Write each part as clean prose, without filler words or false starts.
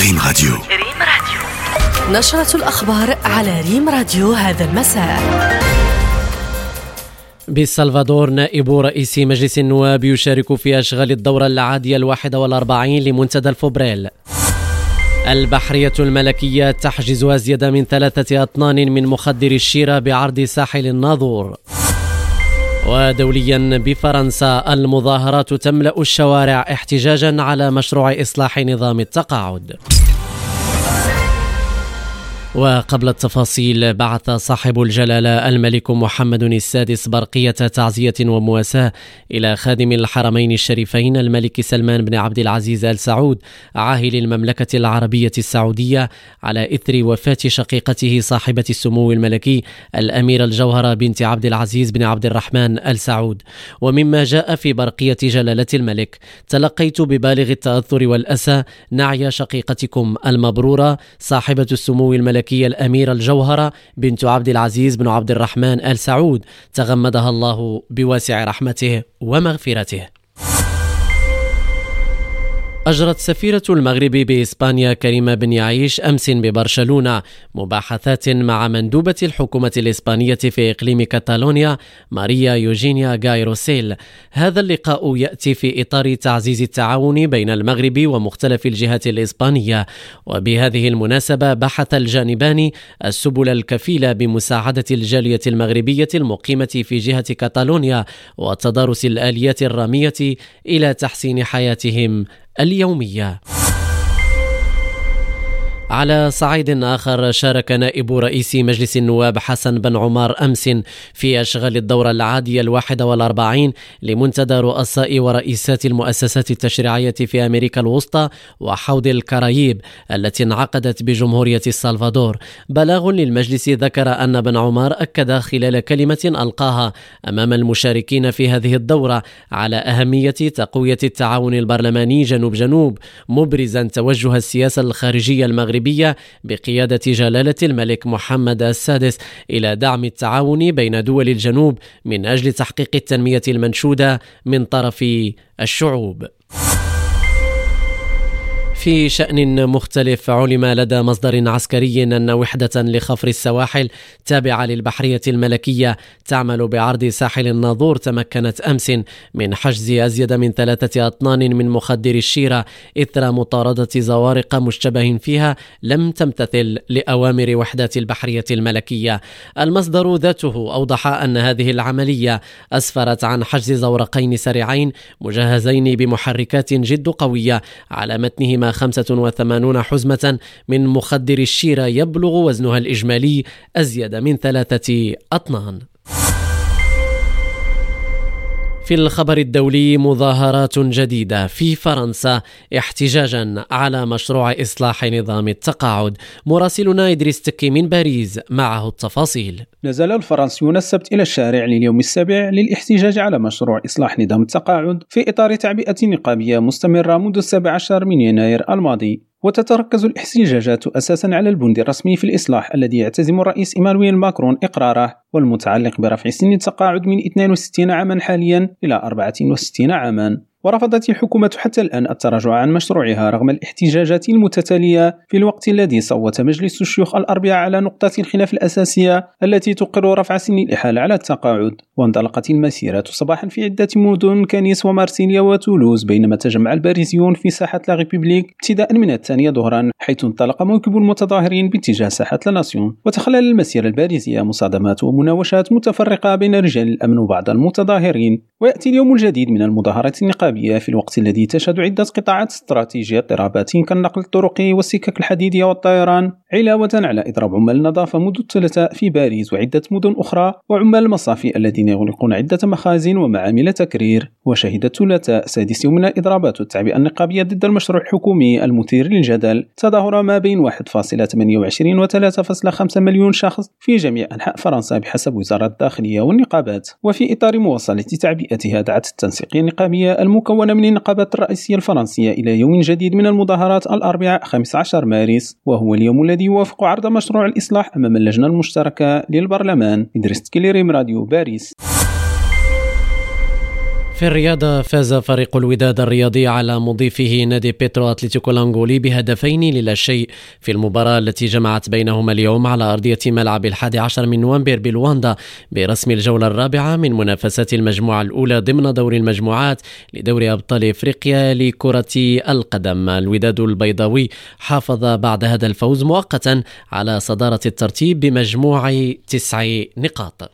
ريم راديو. نشرة الأخبار على ريم راديو هذا المساء. بالسلفادور نائب رئيس مجلس النواب يشارك في أشغال الدورة العادية 41 لمنتدى الفبريل. البحرية الملكية تحجز أزيد من 3 أطنان من مخدر الشيرة بعرض ساحل الناظور. ودوليا بفرنسا المظاهرات تملأ الشوارع احتجاجا على مشروع إصلاح نظام التقاعد. وقبل التفاصيل، بعث صاحب الجلالة الملك محمد السادس برقية تعزية ومواساة إلى خادم الحرمين الشريفين الملك سلمان بن عبد العزيز آل سعود عاهل المملكة العربية السعودية على إثر وفاة شقيقته صاحبة السمو الملكي الأميرة الجوهرة بنت عبد العزيز بن عبد الرحمن آل سعود. ومما جاء في برقية جلالة الملك: تلقيت ببالغ التأثر والأسى نعي شقيقتكم المبرورة صاحبة السمو الملكي الأميرة الجوهرة بنت عبد العزيز بن عبد الرحمن آل سعود، تغمدها الله بواسع رحمته ومغفرته. أجرت سفيرة المغرب بإسبانيا كريمة بن يعيش أمس ببرشلونة مباحثات مع مندوبة الحكومة الإسبانية في إقليم كاتالونيا ماريا يوجينيا غاي روسيل. هذا اللقاء يأتي في إطار تعزيز التعاون بين المغرب ومختلف الجهات الإسبانية، وبهذه المناسبة بحث الجانبان السبل الكفيلة بمساعدة الجالية المغربية المقيمة في جهة كاتالونيا وتدارس الآليات الرامية إلى تحسين حياتهم اليومية. على صعيد آخر، شارك نائب رئيس مجلس النواب حسن بن عمار أمس في أشغال الدورة العادية 41 لمنتدى رؤساء ورئيسات المؤسسات التشريعية في أمريكا الوسطى وحوض الكرايب التي انعقدت بجمهورية السلفادور. بلاغ للمجلس ذكر أن بن عمار أكد خلال كلمة ألقاها أمام المشاركين في هذه الدورة على أهمية تقوية التعاون البرلماني جنوب، مبرزا توجه السياسة الخارجية المغربية بقيادة جلالة الملك محمد السادس إلى دعم التعاون بين دول الجنوب من أجل تحقيق التنمية المنشودة من طرف الشعوب. في شأن مختلف، علم لدى مصدر عسكري أن وحدة لخفر السواحل تابعة للبحرية الملكية تعمل بعرض ساحل الناظور تمكنت أمس من حجز أزيد من 3 أطنان من مخدر الشيرة إثر مطاردة زوارق مشتبه فيها لم تمتثل لأوامر وحدات البحرية الملكية. المصدر ذاته أوضح أن هذه العملية أسفرت عن حجز زورقين سريعين مجهزين بمحركات جد قوية على متنهما 85 حزمة من مخدر الشيرة يبلغ وزنها الإجمالي أزيد من 3 أطنان. في الخبر الدولي، مظاهرات جديدة في فرنسا احتجاجا على مشروع إصلاح نظام التقاعد. مراسلنا إدريس تكي من باريس معه التفاصيل. نزل الفرنسيون السبت إلى الشارع لليوم السابع للاحتجاج على مشروع إصلاح نظام التقاعد في إطار تعبئة نقابية مستمرة منذ 17 من يناير الماضي. وتتركز الاحتجاجات أساسا على البند الرسمي في الإصلاح الذي يعتزم الرئيس إيمانويل ماكرون إقراره، والمتعلق برفع سن التقاعد من 62 عاما حاليا إلى 64 عاما. ورفضت الحكومة حتى الآن التراجع عن مشروعها رغم الاحتجاجات المتتالية، في الوقت الذي صوت مجلس الشيوخ الأربعاء على نقطة الخلاف الأساسية التي تقر رفع سن الإحالة على التقاعد. وانطلقت المسيرة صباحا في عدة مدن كنيس ومارسيليا وتولوز، بينما تجمع الباريسيون في ساحة لا ريبوبليك ابتداء من 2 ظهرا، حيث انطلق موكب المتظاهرين باتجاه ساحة لا ناسيون. وتخلل المسيرة الباريسية مصادمات ومناوشات متفرقة بين رجال الأمن وبعض المتظاهرين. ويأتي اليوم الجديد من المظاهرات النقابية في الوقت الذي تشهد عدة قطاعات استراتيجية اضطرابات كالنقل الطرقي والسكك الحديدية والطيران، علاوة على إضراب عمال النظافة منذ الثلاثاء في باريس وعدة مدن أخرى، وعمال المصافي الذين يغلقون عدة مخازن ومعامل تكرير. وشهدت الثلاثاء 6 من الإضرابات والتعبئة النقابية ضد المشروع الحكومي المثير للجدل تظاهر ما بين 1.28 و 3.5 مليون شخص في جميع أنحاء فرنسا بحسب وزارة الداخلية والنقابات. وفي إطار مواصلة تعبئتها، دعت التنسيقية النقابية المكونة من النقابات الرئيسية الفرنسية إلى يوم جديد من المظاهرات الأربعاء 15 مارس، وهو اليوم الذي يوافق عرض مشروع الإصلاح أمام اللجنة المشتركة للبرلمان. إدريس تكي، ريم راديو، باريس. في الرياضة فاز فريق الوداد الرياضي على مضيفه نادي بيترو أتلتيكو الأنغولي ب2-0 في المباراة التي جمعت بينهما اليوم على أرضية ملعب 11 من نوفمبر بلواندا برسم الجولة الرابعة من منافسات المجموعة الأولى ضمن دور المجموعات لدوري أبطال إفريقيا لكرة القدم. الوداد البيضاوي حافظ بعد هذا الفوز مؤقتا على صدارة الترتيب بمجموع 9 نقاط.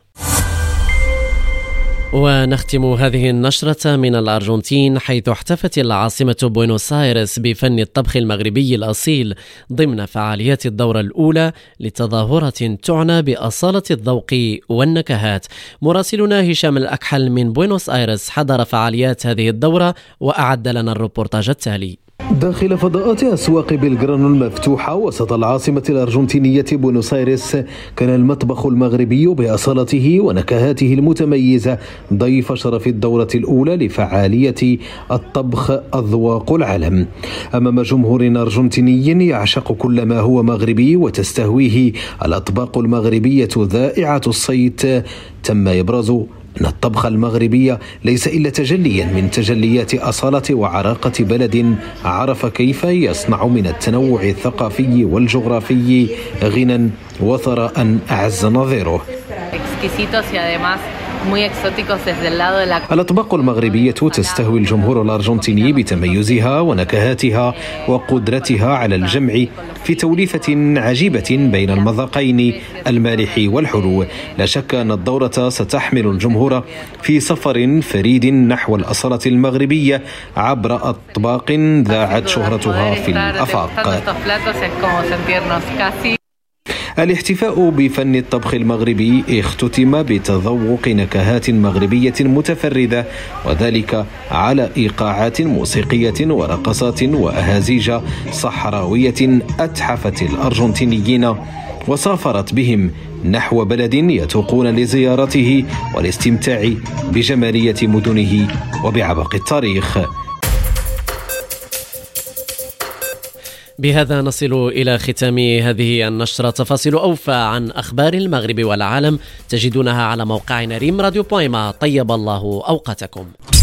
ونختم هذه النشرة من الأرجنتين، حيث احتفت العاصمة بوينوس آيرس بفن الطبخ المغربي الأصيل ضمن فعاليات الدورة الأولى لتظاهرة تعنى بأصالة الذوق والنكهات. مراسلنا هشام الأكحل من بوينوس آيرس حضر فعاليات هذه الدورة وأعد لنا الريبورتاج التالي. داخل فضاءات أسواق بلغرانو المفتوحة وسط العاصمة الأرجنتينية بوينوس آيرس، كان المطبخ المغربي بأصالته ونكهاته المتميزة ضيف شرف الدورة الأولى لفعالية الطبخ أذواق العالم. أمام جمهور أرجنتيني يعشق كل ما هو مغربي وتستهويه الأطباق المغربية ذائعة الصيت، تم إبراز أن الطبخ المغربي ليس إلا تجليا من تجليات أصالة وعراقة بلد عرف كيف يصنع من التنوع الثقافي والجغرافي غنى وثراء أعز نظيره. الأطباق المغربية تستهوي الجمهور الأرجنتيني بتميزها ونكهاتها وقدرتها على الجمع في توليفة عجيبة بين المذاقين المالح والحلو. لا شك أن الدورة ستحمل الجمهور في سفر فريد نحو الأصالة المغربية عبر أطباق ذاعت شهرتها في الآفاق. الاحتفاء بفن الطبخ المغربي اختتم بتذوق نكهات مغربية متفردة، وذلك على إيقاعات موسيقية ورقصات وأهازيج صحراوية أتحفت الأرجنتينيين وسافرت بهم نحو بلد يتوقون لزيارته والاستمتاع بجمالية مدنه وبعبق التاريخ. بهذا نصل إلى ختام هذه النشرة. تفاصيل أوفى عن أخبار المغرب والعالم تجدونها على موقعنا ريم راديو. طيب الله أوقاتكم.